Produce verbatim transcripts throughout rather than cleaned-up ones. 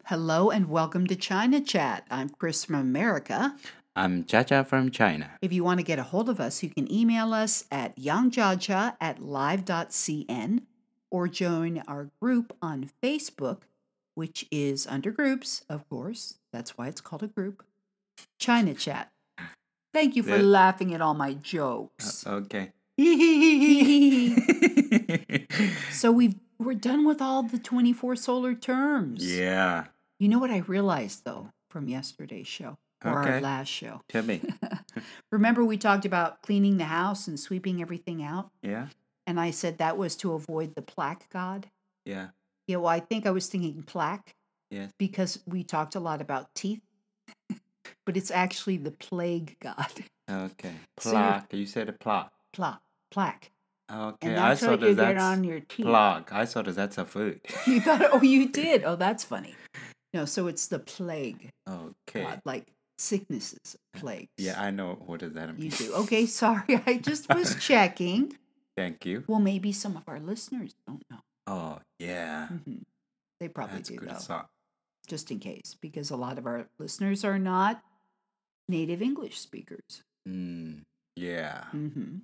Hello and welcome to China Chat. I'm Chris from America. I'm Jaja from China. If you want to get a hold of us, you can email us at yangjiajia at live.cn or join our group on Facebook, which is under groups, of course. That's why it's called a group. China Chat. Thank you for Yeah. laughing at all my jokes. Uh, okay. So we've we're done with all the twenty-four solar terms. Yeah. You know what I realized though from yesterday's show or our Okay. last show? Tell me. Remember we talked about cleaning the house and sweeping everything out? Yeah. And I said that was to avoid the plaque god. Yeah. Yeah, well, I think I was thinking plaque Yes. because we talked a lot about teeth, but it's actually the plague god. Okay. So you're- Plaque. You said a plaque. Pla- plaque. Okay. And I that's thought what that you get that's on your teeth. plaque. I thought that that's a food. You thought, oh, you did. Oh, that's funny. No, so it's the plague Okay. god, like sicknesses, plagues. Yeah, I know. What does that mean? You do. Okay, sorry. I just was checking. Thank you. Well, maybe some of our listeners don't know. Oh, yeah. hmm They probably That's do, good though, thought. just in case, because a lot of our listeners are not native English speakers. Mm, yeah. hmm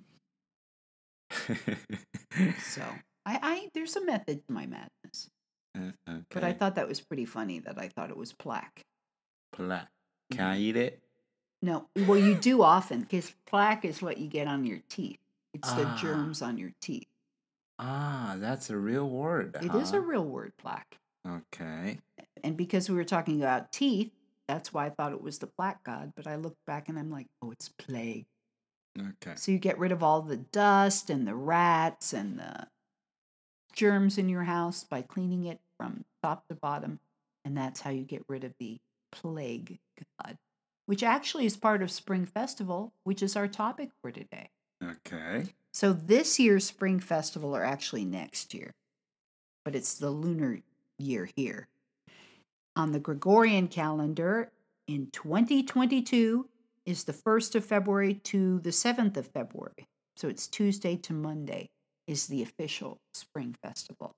So I, I, there's a method to my madness, Uh, okay. but I thought that was pretty funny that I thought it was plaque. Plaque. Can I eat it? No, well, you do often because plaque is what you get on your teeth. It's the Ah. germs on your teeth. Ah, that's a real word. It huh? is a real word, plaque. Okay. And because we were talking about teeth, that's why I thought it was the plaque god. But I looked back and I'm like, oh, it's plague. Okay. So you get rid of all the dust and the rats and the germs in your house by cleaning it from top to bottom. And that's how you get rid of the plague god, which actually is part of Spring Festival, which is our topic for today. Okay. So this year's Spring Festival, or actually next year, but it's the lunar year here. On the Gregorian calendar in twenty twenty-two is the first of February to the seventh of February. So it's Tuesday to Monday is the official Spring Festival.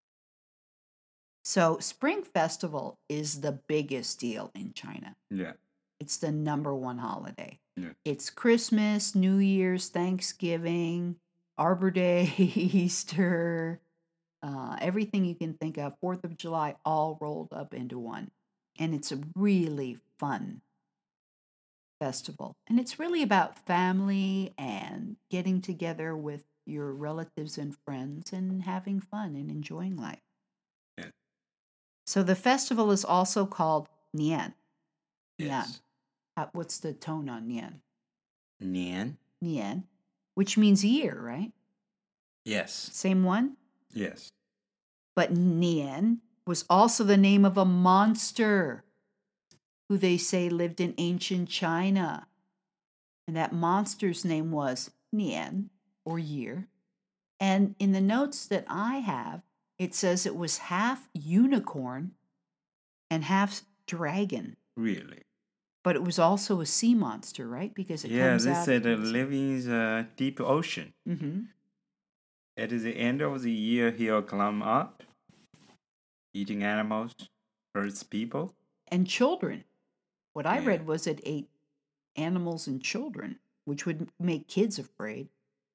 So Spring Festival is the biggest deal in China. Yeah. It's the number one holiday. Yeah. It's Christmas, New Year's, Thanksgiving, Arbor Day, Easter, uh, everything you can think of, fourth of July, all rolled up into one. And it's a really fun festival. And it's really about family and getting together with your relatives and friends and having fun and enjoying life. Yeah. So the festival is also called Nian. Yes. Uh, what's the tone on Nian? Nian. Nian, which means year, right? Yes. Same one? Yes. But Nian was also the name of a monster who they say lived in ancient China. And that monster's name was Nian, or year. And in the notes that I have, it says it was half unicorn and half dragon. Really. But it was also a sea monster, right? Because it Yeah, comes they out. said uh, living in the deep ocean. Mm-hmm. At the end of the year, he'll climb up, eating animals, hurts people. And children. What I Yeah. read was it ate animals and children, which would make kids afraid.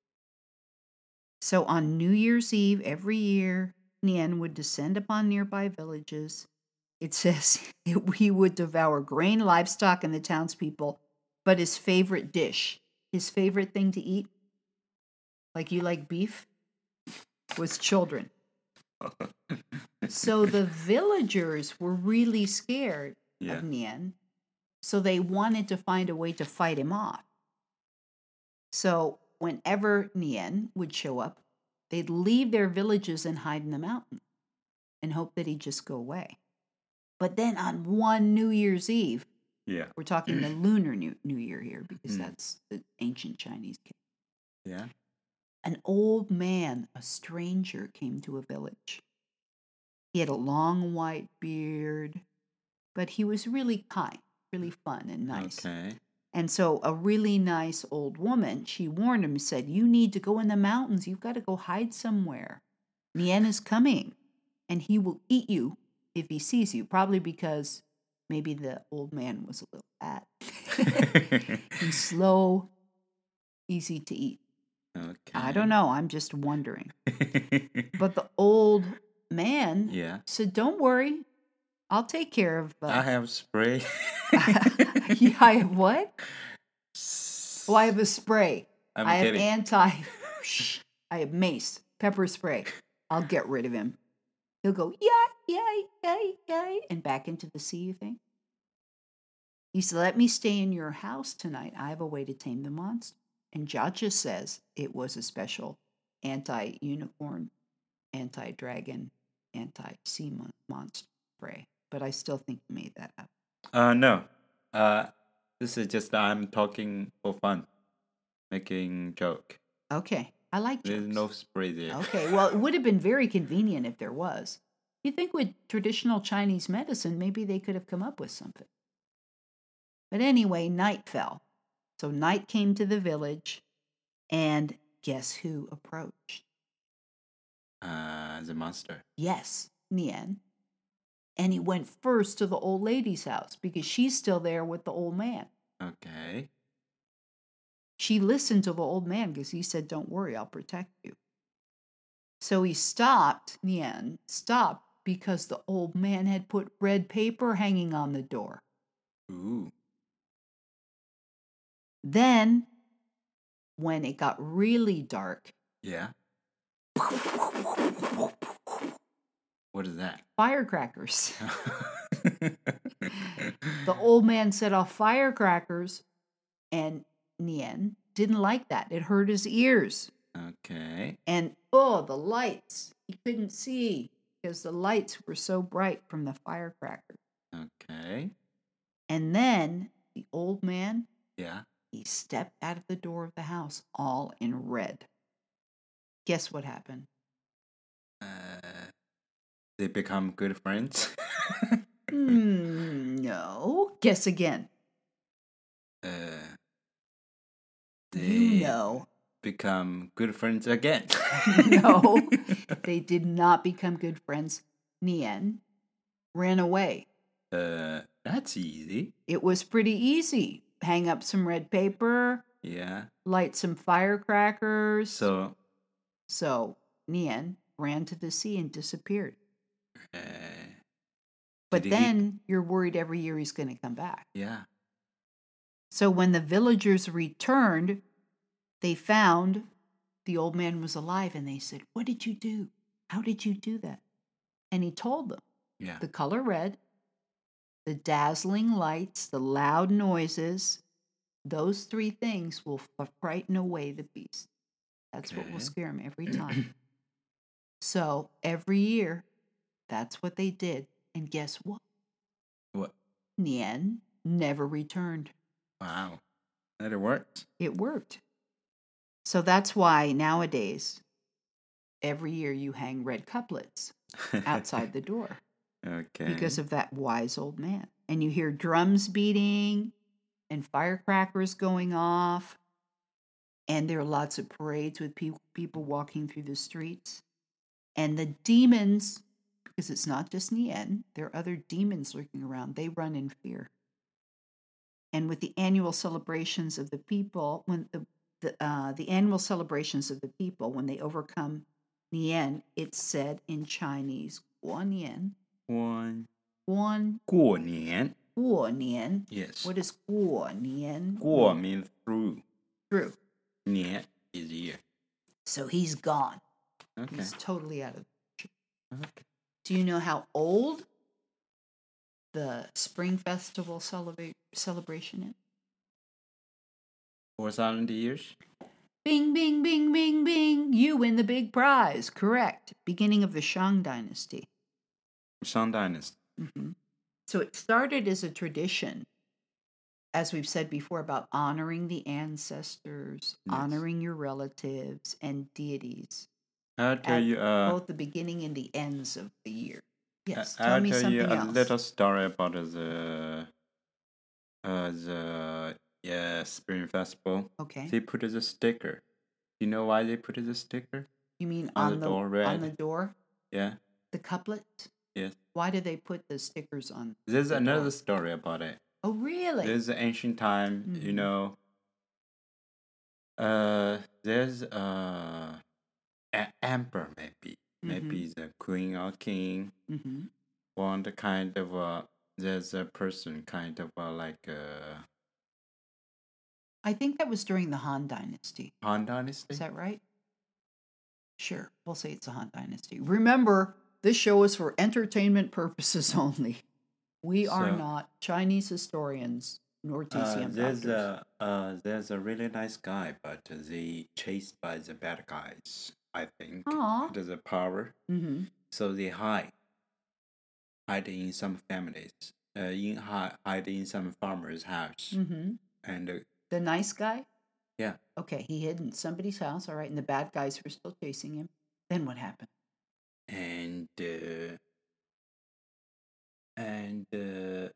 So on New Year's Eve every year, Nian would descend upon nearby villages. It says he would devour grain, livestock, and the townspeople, but his favorite dish, his favorite thing to eat, like you like beef, was children. So the villagers were really scared Yeah. of Nian, so they wanted to find a way to fight him off. So whenever Nian would show up, they'd leave their villages and hide in the mountain and hope that he'd just go away. But then on one New Year's Eve, Yeah. we're talking the lunar New, New Year here because Mm. that's the ancient Chinese. Yeah. An old man, a stranger, came to a village. He had a long white beard, but he was really kind, really fun and nice. Okay. And so a really nice old woman, she warned him, said, you need to go in the mountains. You've got to go hide somewhere. Nian is coming, and he will eat you if he sees you, probably because maybe the old man was a little fat. He's slow, easy to eat. Okay. I don't know. I'm just wondering. But the old man Yeah. said, "Don't worry. I'll take care of." Uh, I have spray. yeah, I have what? Oh, I have a spray. I'm I have kidding. anti. I have mace, pepper spray. I'll get rid of him. He'll go, yeah, yeah, yeah, yeah, and back into the sea, you think? He said, "Let me stay in your house tonight. I have a way to tame the monster." And Jaja says it was a special anti-unicorn, anti-dragon, anti-sea mon- monster spray. But I still think you made that up. Uh, no. Uh, this is just I'm talking for fun, making joke. Okay, I like jokes. There's no spray there. Okay, well, it would have been very convenient if there was. You think with traditional Chinese medicine, maybe they could have come up with something. But anyway, night fell. So night came to the village, and guess who approached? Uh, the monster. Yes, Nian. And he went first to the old lady's house because she's still there with the old man. Okay. She listened to the old man because he said, "Don't worry, I'll protect you." So he stopped, Nian stopped because the old man had put red paper hanging on the door. Ooh. Then, when it got really dark, Yeah. What is that? firecrackers. The old man set off firecrackers, and Nian didn't like that. It hurt his ears. Okay. And oh, the lights. He couldn't see because the lights were so bright from the firecrackers. Okay. And then the old man, Yeah. he stepped out of the door of the house all in red. Guess what happened? Uh, they become good friends. mm, no. Guess again. Uh, they You know. become good friends again. No, they did not become good friends. Nian ran away. Uh, that's easy. It was pretty easy. Hang up some red paper, Yeah. light some firecrackers. So, So Nian ran to the sea and disappeared. uh, But did he- then you're worried every year he's going to come back. yeah. So when the villagers returned, they found the old man was alive and they said, "What did you do? How did you do that?" And he told them Yeah. the color red, the dazzling lights, the loud noises, those three things will f- frighten away the beast. That's what will Okay. scare him every time. So every year, that's what they did. And guess what? What? Nian never returned. Wow. That it worked. It worked. So that's why nowadays, every year you hang red couplets outside the door Okay. because of that wise old man. And you hear drums beating and firecrackers going off. And there are lots of parades with pe- people walking through the streets. And the demons, because it's not just Nian, there are other demons lurking around, they run in fear. And with the annual celebrations of the people, when the the, uh, the annual celebrations of the people, when they overcome Nian, it's said in Chinese, Guo Nian, One. Guan 过年. Guo Nian. Yes. What is Guo Nian? 过 means through. True. 年 is year. So he's gone. Okay. He's totally out of the picture. Okay. Do you know how old the Spring Festival celebra- celebration is? Four thousand years. Bing, bing, bing, bing, bing. You win the big prize. Correct. Beginning of the Shang Dynasty. Shang Dynasty. Mm-hmm. So it started as a tradition, as we've said before, about honoring the ancestors, Yes. honoring your relatives and deities. I'll tell at you. Uh, both the beginning and the ends of the year. Yes, I- tell I'll me tell something you a else. little story about the uh the yeah Spring Festival. Okay. They put the sticker. You know why they put the sticker? You mean on on, the the door, on red. the door? Yeah. The couplet? Yes. Why do they put the stickers on? There's the another door? story about it. Oh, really? There's an ancient time, you Mhm. know. Uh, there's uh, an emperor maybe, maybe Mhm. the queen or king. Mhm. Want a kind of uh, there's a person kind of uh, like uh, I think that was during the Han Dynasty. Han Is Dynasty. that right? Sure, we'll say it's a Han Dynasty. Remember, this show is for entertainment purposes only. We are So not Chinese historians nor uh, T C M there's doctors. a uh, there's a really nice guy, but they chased by the bad guys. I think Aw. it is a power, Mm-hmm. so they hide hide in some families, uh, in hide, hide in some farmer's house, Mm-hmm. and uh, The nice guy? yeah, Okay, he hid in somebody's house, all right, and the bad guys were still chasing him. Then what happened? and uh, and uh,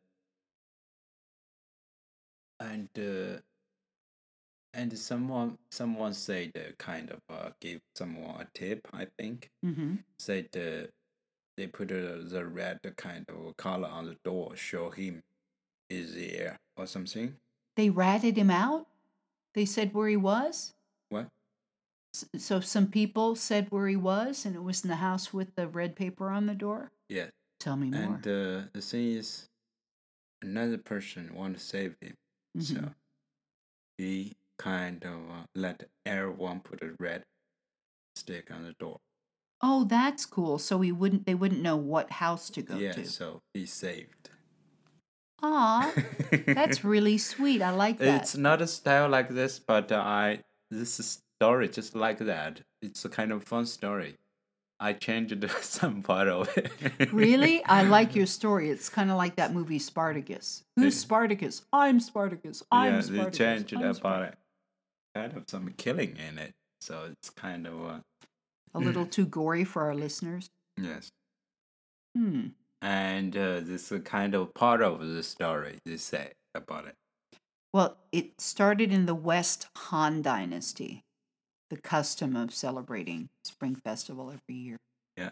and uh, and someone someone said uh, kind of uh, gave someone a tip. I think Mm-hmm. said uh, they put uh, the red kind of color on the door, show him is there or something. They ratted him out? They said where he was? What? S- So some people said where he was, and it was in the house with the red paper on the door? Yes. Tell me more. And uh, the thing is, another person want to save him, Mm-hmm. so he kind of uh, let everyone put a red stick on the door. Oh, that's cool. So he wouldn't they wouldn't know what house to go Yeah, to. so he's saved. Aw, that's really sweet. I like that. It's not a style like this, but uh, I this is story just like that. It's a kind of fun story. I changed some part of it. Really? I like your story. It's kind of like that movie Spartacus. Who's Yeah. Spartacus? I'm Spartacus. I'm Yeah, they Spartacus. changed I'm about Spartacus. it. Kind of some killing in it, so it's kind of uh, A little too gory for our listeners. yes. Hmm. And uh, this is kind of part of the story they say about it. Well, it started in the West Han Dynasty, the custom of celebrating Spring Festival every year. Yeah.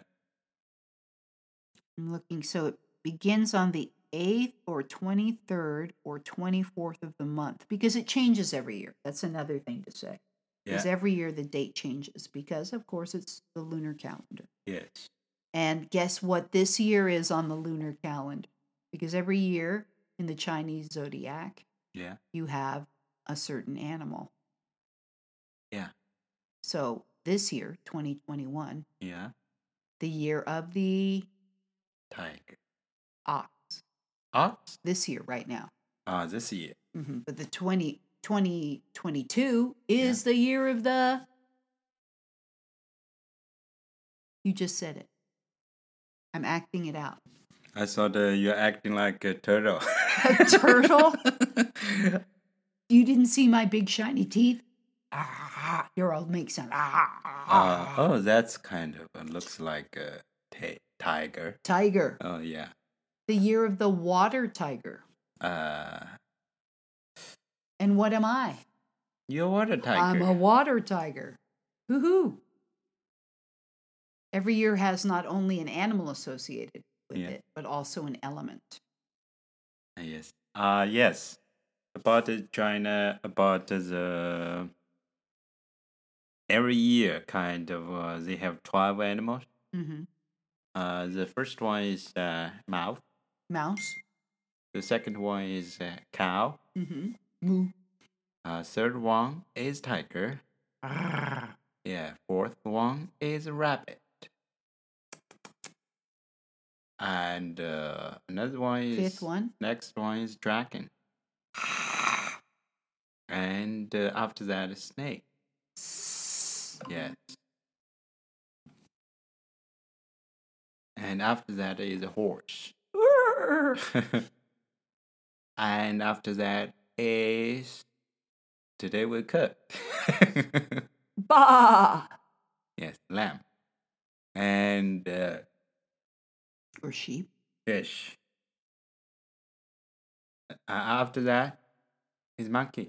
I'm looking, so it begins on the eighth or twenty-third or twenty-fourth of the month because it changes every year. That's another thing to say. Yeah. Is every year the date changes because, of course, it's the lunar calendar. Yes. And guess what this year is on the lunar calendar? Because every year in the Chinese zodiac, Yeah. you have a certain animal. Yeah. So this year, twenty twenty-one, Yeah. the year of the Tiger. ox, Ox? this year, right now. Ah, this year. Mm-hmm. But the twenty, twenty twenty-two is the year of the. You just said it. I'm acting it out. I thought uh, you're acting like a turtle. A turtle? You didn't see my big shiny teeth? Ah, your old make sound. Ah, Uh, oh, that's kind of uh, looks like a t- tiger. Tiger. Oh yeah. The year of the water tiger. Uh, And what am I? you're what a tiger. I'm a water tiger. Hoo-hoo. Every year has not only an animal associated with Yeah. it, but also an element. Uh, yes. Uh yes. About the China, about the every year kind of uh, they have twelve animals. Mm-hmm. Uh, the first one is uh, mouse. Mouse. The second one is uh, cow. Mm-hmm. Moo. Uh, third one is tiger. Yeah. Fourth one is rabbit. And uh, another one is Fifth one. Next one is dragon. And uh, after that is snake. Yes. And after that is a horse. And after that is today we cook. Bah! Yes, lamb. And uh, Or sheep. fish. Uh, after that is monkey.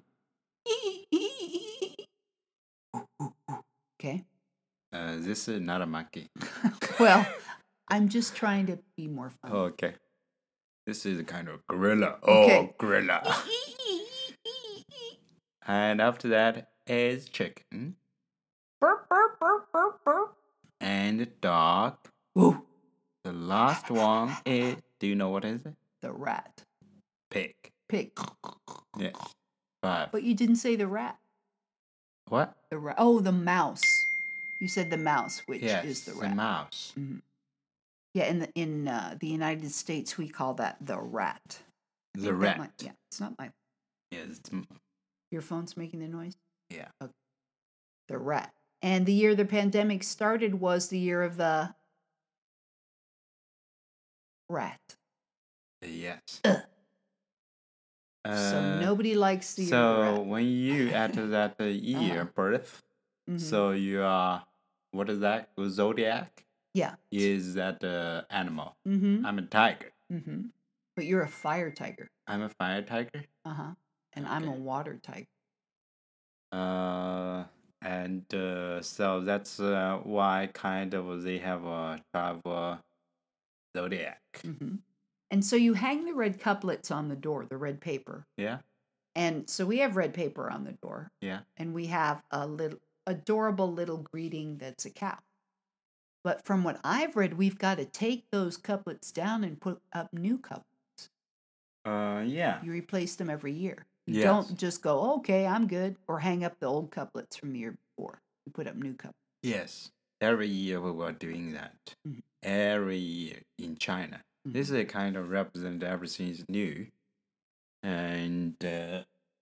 Okay. Uh, this is not a monkey. Well, I'm just trying to be more fun. Okay. This is a kind of gorilla. Okay. Oh, gorilla. And after that is chicken. Burp, burp, burp, burp, burp. And dog. Woo. The last one is, do you know what is it? The rat. Pig. Pig. Yes. Five. But you didn't say the rat. What? The rat. Oh, the mouse. You said the mouse, which Yes, is the the rat. mouse. Mhm. Yeah, in the in uh, the United States, we call that the rat. I The think that rat. might- yeah, it's not my. Yes. it's m- Your phone's making the noise. Yeah. The rat. And the year the pandemic started was the year of the rat. Yes. Ugh. Uh, So nobody likes the year of the So rat. when you enter that uh, year Uh-huh. birth, Mhm. so you are, what is that? Zodiac Yeah. is that uh, animal. Mm-hmm. I'm a tiger. Mm-hmm. But you're a fire tiger. I'm a fire tiger. Uh-huh. And I'm a Okay. water tiger. Uh, and uh, so that's uh, why kind of they have a twelve uh, zodiac. Mm-hmm. And so you hang the red couplets on the door, the red paper. Yeah, And so we have red paper on the door. yeah. And we have a little adorable little greeting that's a cow. But from what I've read, we've got to take those couplets down and put up new couplets. Uh, yeah. You replace them every year. You Yes. don't just go, okay, I'm good, or hang up the old couplets from the year before. You put up new couplets. Yes. Every year we were doing that. Mhm. Every year in China. This is kind of represent everything is new. And uh,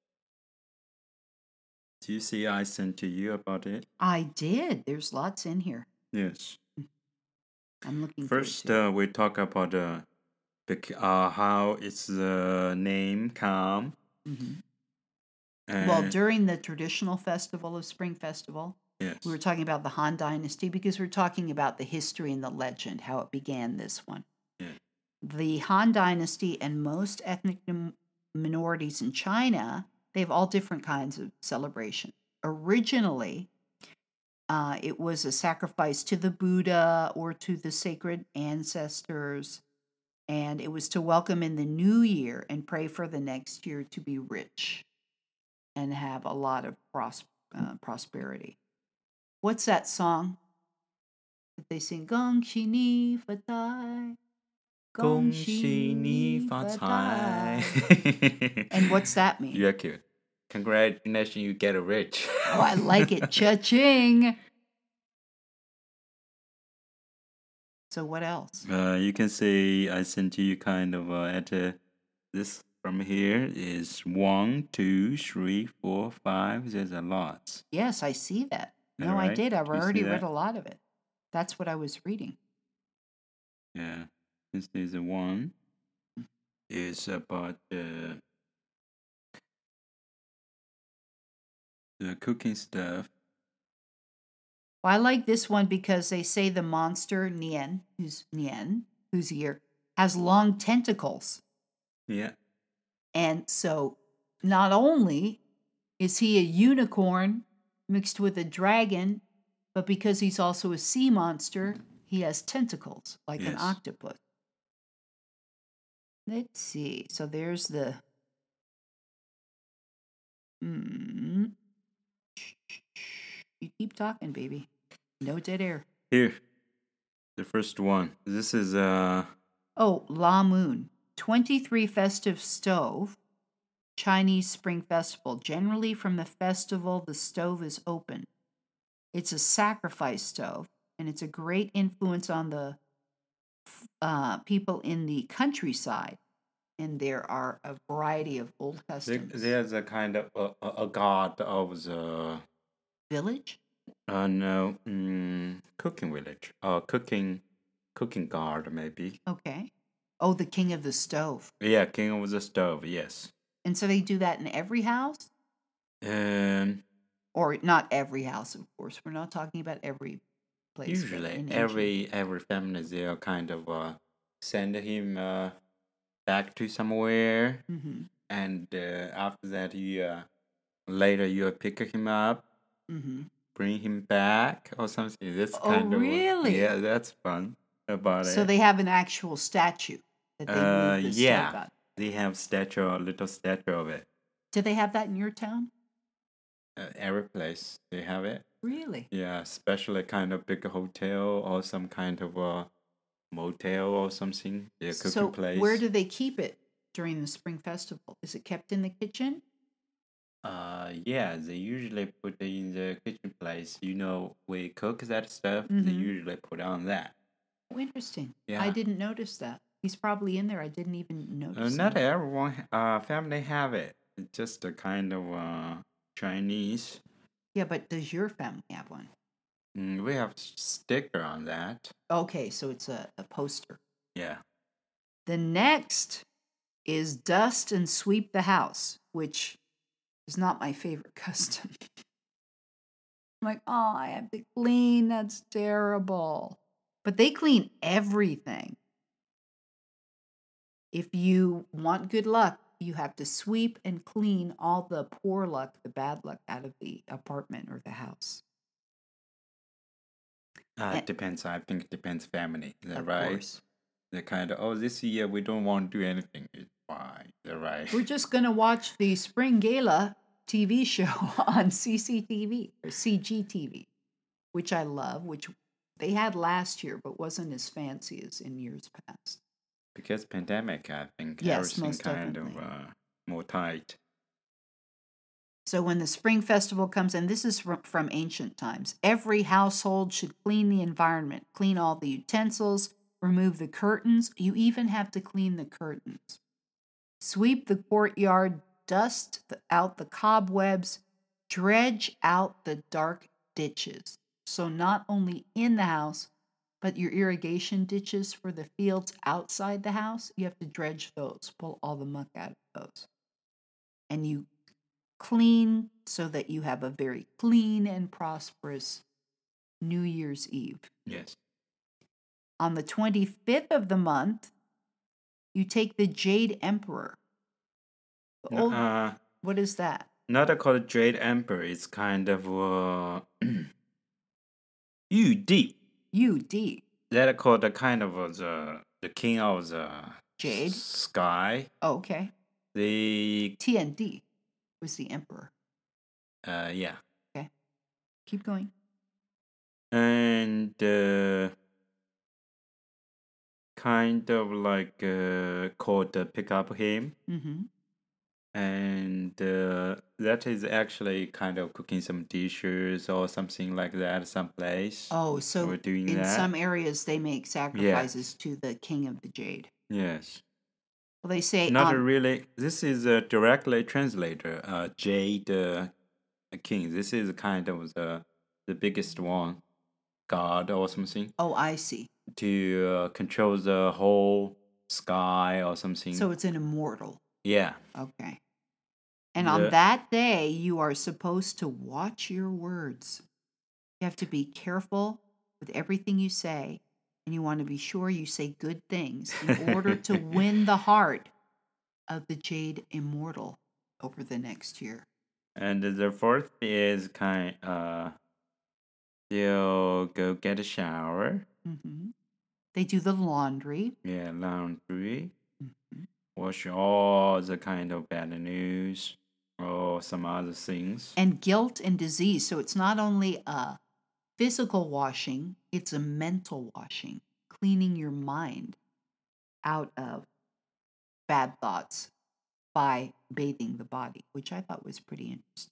do you see I sent to you about it? I did. There's lots in here. Yes. I'm looking First, forward uh, we talk about uh, bec- uh, how its uh, name come. to it. Mhm. And Well, during the traditional festival of Spring Festival, yes. we were talking about the Han Dynasty because we're talking about the history and the legend, how it began this one. Yeah. The Han Dynasty and most ethnic min- minorities in China, they have all different kinds of celebration. Originally, uh, it was a sacrifice to the Buddha or to the sacred ancestors, and it was to welcome in the new year and pray for the next year to be rich and have a lot of pros- uh, prosperity. What's that song that they sing? Gong Xi Ni Fa Dai. 恭喜你发财. And what's that mean? You're cute. Congratulations, you get rich. Oh, I like it. Cha-ching. So what else? Uh, you can see I sent you kind of uh, at uh, this from here is one, two, three, four, five. There's a lot. Yes, I see that. No, I Alright, did. I've do you see already read that? a lot of it. That's what I was reading. Yeah, this is the one. Is about uh, the cooking stuff. Well, I like this one because they say the monster Nian, who's Nian, who's here, has long tentacles. Yeah. And so not only is he a unicorn mixed with a dragon, but because he's also a sea monster, he has tentacles like an Yes. octopus. Let's see. So there's the. Mm. You keep talking, baby. No dead air. Here, the first one. This is uh Oh, La Moon. twenty-three festive stove. Chinese Spring Festival. Generally, from the festival, the stove is open. It's a sacrifice stove, and it's a great influence on the uh, people in the countryside. And there are a variety of old there, customs. there's a kind of a, a, a god of the Village? uh no mm, cooking village. Uh cooking cooking god maybe. Okay. Oh, the king of the stove. Yeah, king of the stove. Yes. And so they do that in every house? Um. Or not every house, of course. We're not talking about every place. but Usually, in Asia. every every family they'll kind of uh, send him uh, back to somewhere, Mhm. and uh, after that, you uh, later you pick him up, Mhm. bring him back or something. That's Oh, kind of uh, really? yeah, that's fun. about So it. they have an actual statue that they Uh, move the yeah, stove out. they have statue, a little statue of it. Do they have that in your town? Uh, every place they have it. Really? Yeah, especially kind of big hotel or some kind of a motel or something. Yeah, cooking So place. where do they keep it during the spring festival? Is it kept in the kitchen? Uh, yeah, they usually put it in the kitchen place. You know, we cook that stuff. They Mm-hmm. usually put on that. Oh, interesting. I Yeah. didn't notice that. He's probably in there. I didn't even Uh, notice not him. everyone, uh, family have it. It's just a kind of uh Chinese. Yeah, but does your family have one? Mm, we have s- sticker on that. Okay, so it's a, a poster. Yeah. The next is dust and sweep the house, which is not my favorite custom. I'm like, oh, I have to clean. That's terrible. But they clean everything. If you want good luck, you have to sweep and clean all the poor luck, the bad luck out of the apartment or the house. Uh, And, it depends. I think it depends family. Is that of right? course. They're kind of, oh, this year we don't want to do anything. It's fine. They're right. We're just going to watch the Spring Gala T V show on C C T V or C G T V, which I love, which they had last year but wasn't as fancy as in years past. Because pandemic, I think Yes, everything most kind definitely. of uh, more tight. So when the spring festival comes, and this is from, from ancient times, every household should clean the environment, clean all the utensils, remove the curtains. You even have to clean the curtains. Sweep the courtyard, dust the, out the cobwebs, dredge out the dark ditches. So not only in the house, but your irrigation ditches for the fields outside the house, you have to dredge those, pull all the muck out of those. And you clean so that you have a very clean and prosperous New Year's Eve. Yes. On the twenty-fifth of the month, you take the Jade Emperor. The old, Uh, what is that? not called Jade Emperor. It's kind of uh, Yu Di. U D. That called the kind of uh, the the king of the Jade? s- sky. Oh, okay. The T N D was the emperor. uh yeah, Okay. Keep going. and uh, kind of like uh, called the pick up him, Mm-hmm. and uh, that is actually kind of cooking some dishes or something like that. Someplace Oh, so we're doing in that. some areas they make sacrifices to the king of the Jade. Yes. Well, they say Not um, really. This is a directly translator. Uh, Jade uh, King. This is kind of the the biggest one, god or something, oh, I see. to uh, control the whole sky or something. So it's an immortal. Yeah. Okay. And on The- that day, you are supposed to watch your words. You have to be careful with everything you say, and you want to be sure you say good things in order to win the heart of the Jade Immortal over the next year. And the fourth is kind uh they'll go get a shower. hmm They do the laundry. Yeah, laundry. hmm Wash all the kind of bad news or some other things. And guilt and disease. So it's not only a physical washing, it's a mental washing, cleaning your mind out of bad thoughts by bathing the body, which I thought was pretty interesting.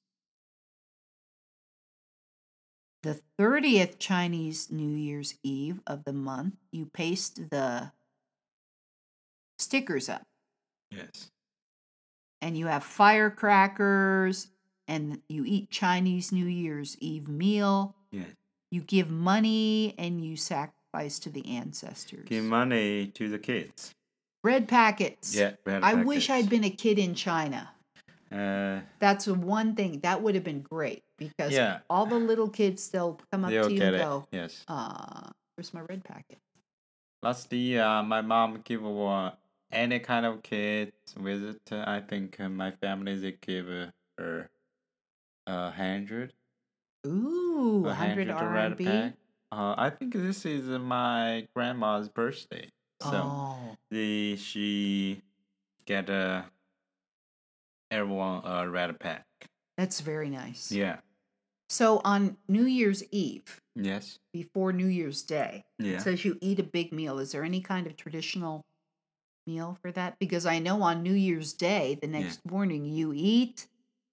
The thirtieth Chinese New Year's Eve of the month, you paste the stickers up Yes. and you have firecrackers and you eat Chinese New Year's Eve meal. Yes. You give money and you sacrifice to the ancestors. Give money to the kids. Bread packets. Yeah, bread I wish packets. I'd been a kid in China. Uh, That's the one thing that would have been great because Yeah. all the little kids they'll come up they'll to you get and it. go, Yes. uh, where's my red packet? Last year, uh, my mom give uh, any kind of kids visit. Uh, I think uh, my family they give uh, her a hundred, Ooh, a one hundred hundred R red and B. pack. Uh, I think this is my grandma's birthday. So Oh, the she get a everyone a red pack. that's very nice. Yeah. So on New Year's Eve, Yes. before New Year's Day, it Yeah. says you eat a big meal. Is there any kind of traditional meal for that? Because I know on New Year's Day, the Yeah. next morning, you eat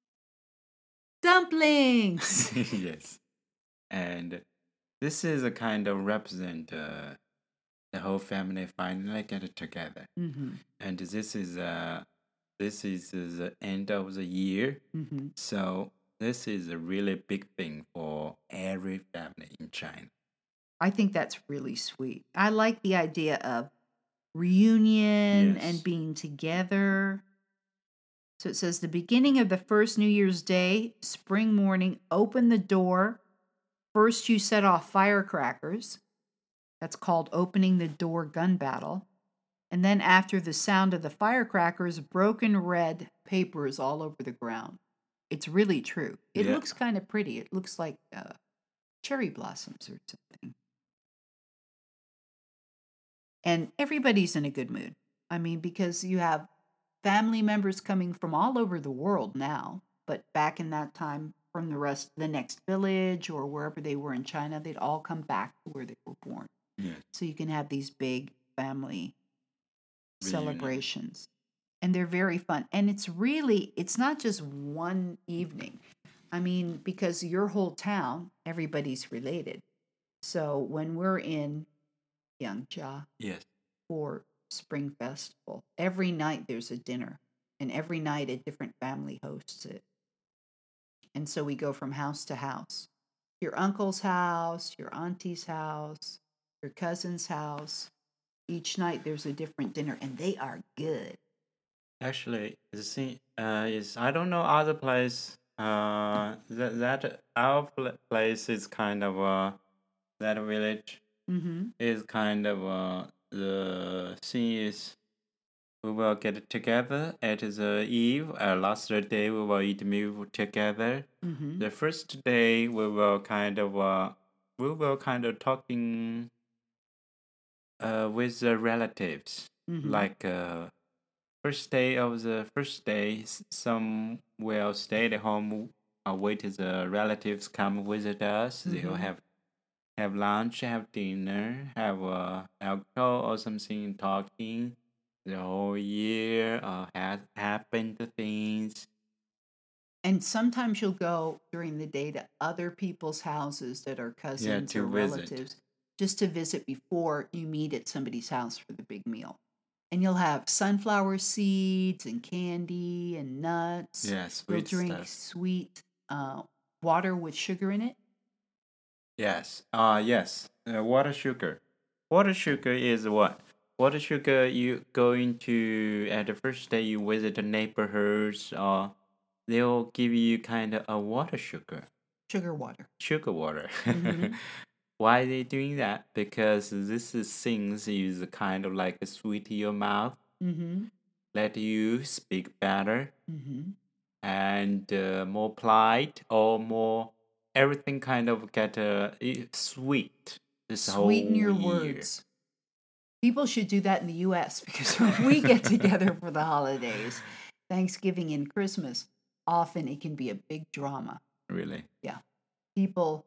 dumplings. Yes. And this is a kind of represent uh, the whole family finally get together. Mm-hmm. And this is uh this is the end of the year. Mm-hmm. So this is a really big thing for every family in China. I think that's really sweet. I like the idea of reunion Yes. and being together. So it says the beginning of the first New Year's Day, spring morning, open the door. First, you set off firecrackers. That's called opening the door gun battle. And then, after the sound of the firecrackers, broken red paper is all over the ground. It's really true. It Yeah. looks kind of pretty. It looks like uh, cherry blossoms or something. And everybody's in a good mood. I mean, because you have family members coming from all over the world now, but back in that time, from the rest, the next village or wherever they were in China, they'd all come back to where they were born. Yes. So you can have these big family Reunion. celebrations. And they're very fun. And it's really, it's not just one evening. I mean, because your whole town, everybody's related. So when we're in Yangzhou Yes. for Spring Festival, every night there's a dinner. And every night a different family hosts it. And so we go from house to house. Your uncle's house, your auntie's house, your cousin's house. Each night there's a different dinner, and they are good. Actually, the thing uh, is, I don't know other place. Uh, that that our pl- place is kind of uh, that village Mm-hmm. is kind of uh, the thing is we will get together at the eve. Uh, last day we will eat meal together. Mm-hmm. The first day we will kind of uh, we will kind of talking uh, with the relatives Mm-hmm. like uh, first day of the first day, s- some will stay at home, uh, wait till the relatives come visit us. They'll Mm-hmm. have have lunch, have dinner, have uh, alcohol or something, talking the whole year, uh, has happened things. And sometimes you'll go during the day to other people's houses that are Yeah, cousins or to visit. relatives just to visit before you meet at somebody's house for the big meal. And you'll have sunflower seeds and candy and nuts. Yeah, You'll sweet drink stuff. sweet uh, water with sugar in it. Yes. Uh yes. Uh, water sugar. Water sugar is what? Water sugar you going to at the first day you visit the neighborhoods or they'll give you kind of a water sugar. Sugar water. Sugar water. Mm-hmm. Why they doing that? Because this is things is kind of like a sweet to your mouth, Mm-hmm. let you speak better Mm-hmm. and uh, more polite or more everything kind of get uh, i- sweet this Sweeten whole your year. words. People should do that in the U S because when we get together for the holidays, Thanksgiving and Christmas, often it can be a big drama. Really? Yeah. People,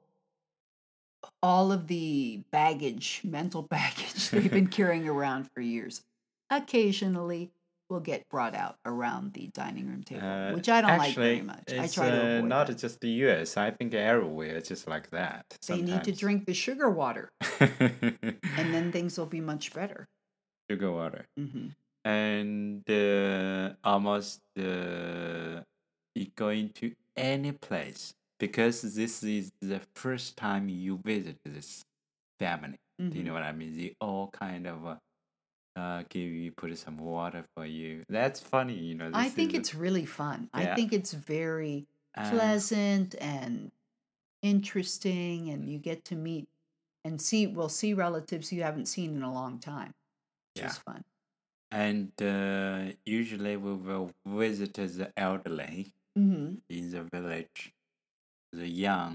all of the baggage, mental baggage they've been carrying around for years, occasionally will get brought out around the dining room table, Uh, which I don't like very actually, much. I it's try to uh, avoid not that. just the U S. I think everywhere it's just like that. They need to Sometimes. drink the sugar water, and then things will be much better. Sugar water. Mm-hmm. And uh, almost uh, you going to any place because this is the first time you visit this family. Do you Mm-hmm. know what I mean? They all kind of uh, uh, give you put some water for you. That's funny, you know. I This think is it's really fun. I yeah. think it's very Uh, pleasant and interesting, and you get to meet and see, well, see relatives you haven't seen in a long time, which yeah. is fun. And uh, usually we will visit the elderly Mm-hmm. in the village, the young.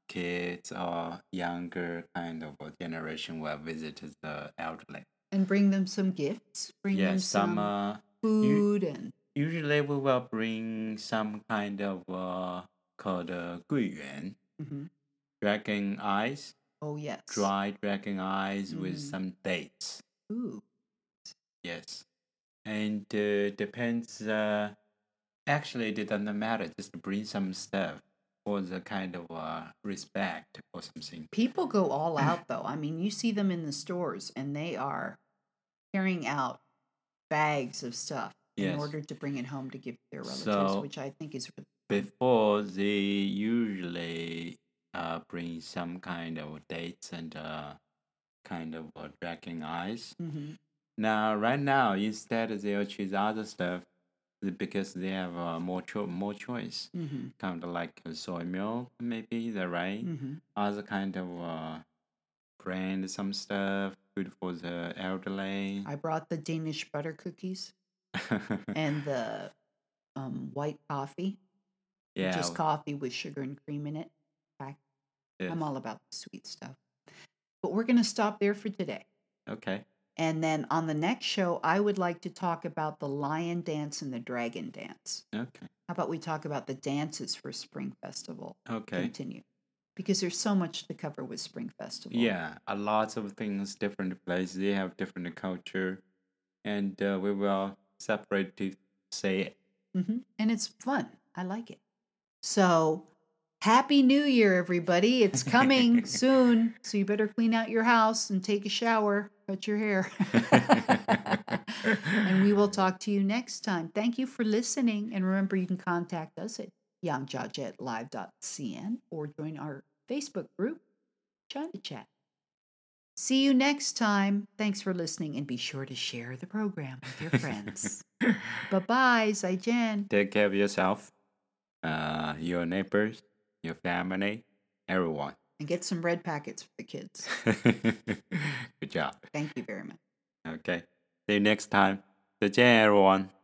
kids or younger kind of a generation will visit the elderly. And bring them some gifts. Bring them Yes, some some uh, u- food and usually we will bring some kind of uh, called uh, 桂圆, Mhm. dragon eyes, oh yes. dry dragon eyes with Mhm. some dates. Ooh. Yes, and uh, depends. Uh, actually, it doesn't matter. Just bring some stuff for the kind of uh, respect or something. People go all out though. I mean, you see them in the stores and they are carrying out bags of stuff in Yes. order to bring it home to give to their relatives, So which I think is really fun. before they usually uh, bring some kind of dates and uh, kind of uh, dragon eyes. Mhm. Now, right now, instead they'll choose other stuff because they have uh, more cho- more choice. Mhm. Kind of like uh, soy milk, maybe, is that right? Mhm. Other kind of uh, brand, some stuff, good for the elderly. I brought the Danish butter cookies and the um, white coffee, which Yeah, is coffee with sugar and cream in it. I- yes. I'm all about the sweet stuff. But we're going to stop there for today. Okay. And then on the next show, I would like to talk about the lion dance and the dragon dance. Okay. How about we talk about the dances for Spring Festival? Okay. Continue. Because there's so much to cover with Spring Festival. Yeah, a lot of things, different places, they have different culture, and uh, we will separate to say it. hmm And it's fun. I like it. So, Happy New Year, everybody. It's coming soon. So, you better clean out your house and take a shower, cut your hair. And we will talk to you next time. Thank you for listening. And remember, you can contact us at yang jia at live dot c n or join our Facebook group, China Chat. See you next time. Thanks for listening and be sure to share the program with your friends. Bye bye, Zaijian. Take care of yourself, uh, your neighbors, your family, everyone. And get some red packets for the kids. Good job. Thank you very much. Okay. See you next time. 再见, everyone.